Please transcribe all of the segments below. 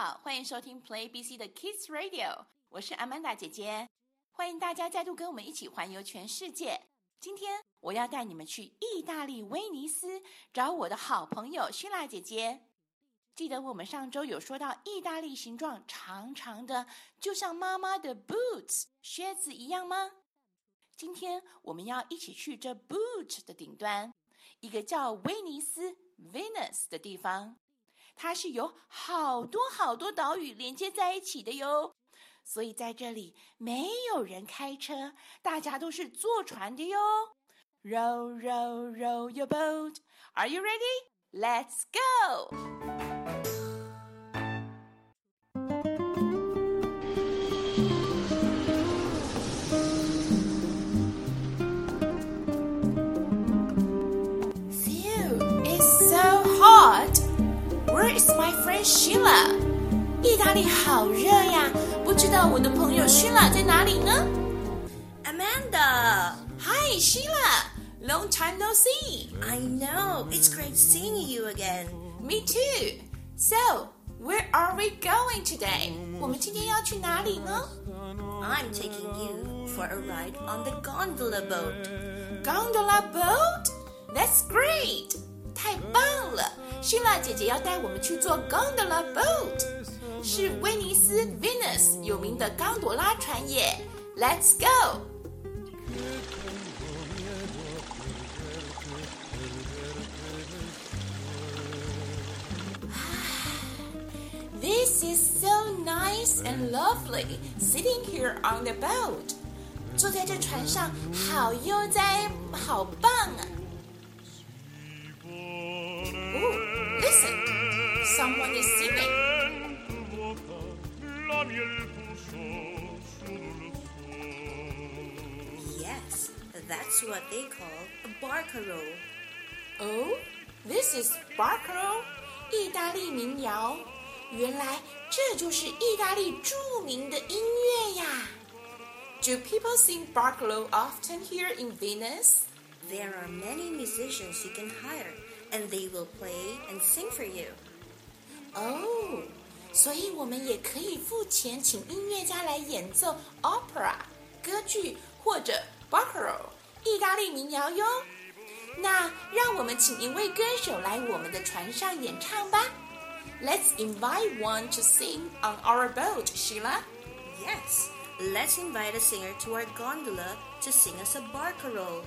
好，欢迎收听 Play BC 的 Kids Radio， 我是 Amanda 姐姐，欢迎大家再度跟我们一起环游全世界。今天我要带你们去意大利威尼斯找我的好朋友希拉姐姐。记得我们上周有说到意大利形状长长的，就像妈妈的 boots 靴子一样吗？今天我们要一起去这 boot 的顶端，一个叫威尼斯 Venice 的地方。它是由好多好多岛屿连接在一起的哟，所以在这里没有人开车，大家都是坐船的哟。Row, row, row your boat. Are you ready? Let's go! Phew, it's so hot.Where is my friend Sheila? 意大利好热呀，不知道我的朋友 Sheila 在哪里呢？ Amanda! Hi Sheila! Long time no see! I know, it's great seeing you again. Me too! So, where are we going today? 我们今天要去哪里呢？ I'm taking you for a ride on the gondola boat. Gondola boat? That's great! 太棒了！希拉姐姐要带我们去坐 gondola boat， 是威尼斯 Venice 有名的冈朵拉船耶。Let's go! This is so nice and lovely, sitting here on the boat. 坐在这船上，好悠哉，好棒啊！ Listen, someone is singing. Yes, that's what they call a barcarolle. Oh, this is barcarolle, 意大利民谣。原来这就是意大利著名的音乐呀。Do people sing barcarolle often here in Venice? There are many musicians you can hire.And they will play and sing for you. Oh, 所以我们也可以付钱请音乐家来演奏 opera 歌剧或者 barcarolle 意大利民谣哟。那让我们请一位歌手来我们的船上演唱吧。Let's invite one to sing on our boat, Sheila. Yes, let's invite a singer to our gondola to sing us a barcarolle.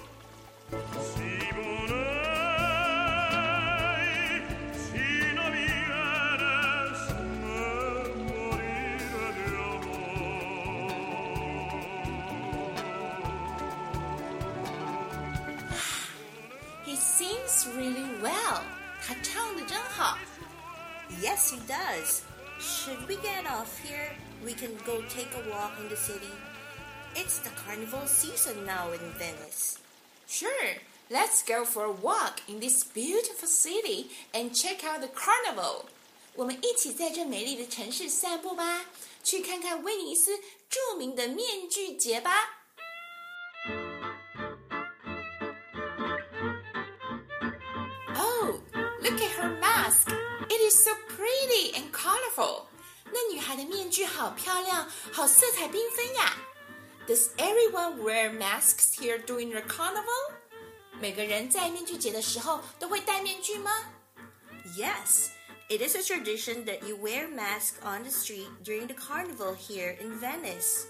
He sings really well. 他唱得真好。 Yes, he does. Should we get off here? We can go take a walk in the city. It's the carnival season now in Venice. Sure, let's go for a walk in this beautiful city and check out the carnival. 我们一起在这美丽的城市散步吧，去看看威尼斯著名的面具节吧。Oh, look at her mask. It is so pretty and colorful. 那女孩的面具好漂亮，好色彩缤纷呀。Does everyone wear masks here during the carnival? 每个人在面具节的时候都会戴面具吗？ Yes, it is a tradition that you wear masks on the street during the carnival here in Venice.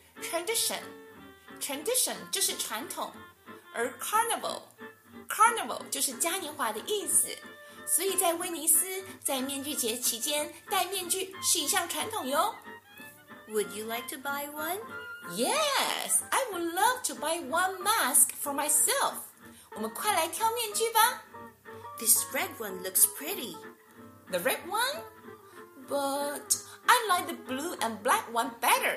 Tradition 就是传统，而 carnival 就是嘉年华的意思。所以在威尼斯，在面具节期间戴面具是一项传统哟。 Would you like to buy one? Yes, I would love to buy one mask for myself. 我们快来挑面具吧。 This red one looks pretty. The red one? But I like the blue and black one better.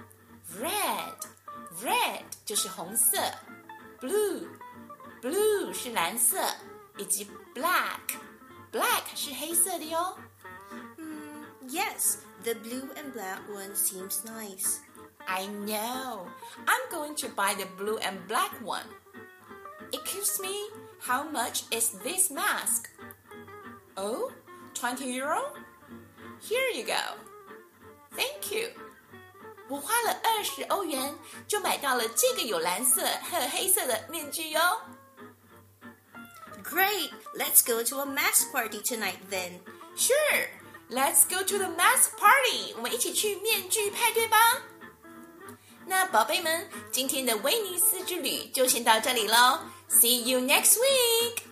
Red 就是红色， blue 是蓝色，以及 black 是黑色的哟。 Yes, the blue and black one seems nice. I know. I'm going to buy the blue and black one. Excuse me, how much is this mask? Oh, €20? Here you go. Thank you. 我花了20欧元就买到了这个有蓝色和黑色的面具哟。 Great! Let's go to a mask party tonight then. Sure, let's go to the mask party. 我们一起去面具派对吧。那宝贝们，今天的威尼斯之旅就先到这里咯。See you next week.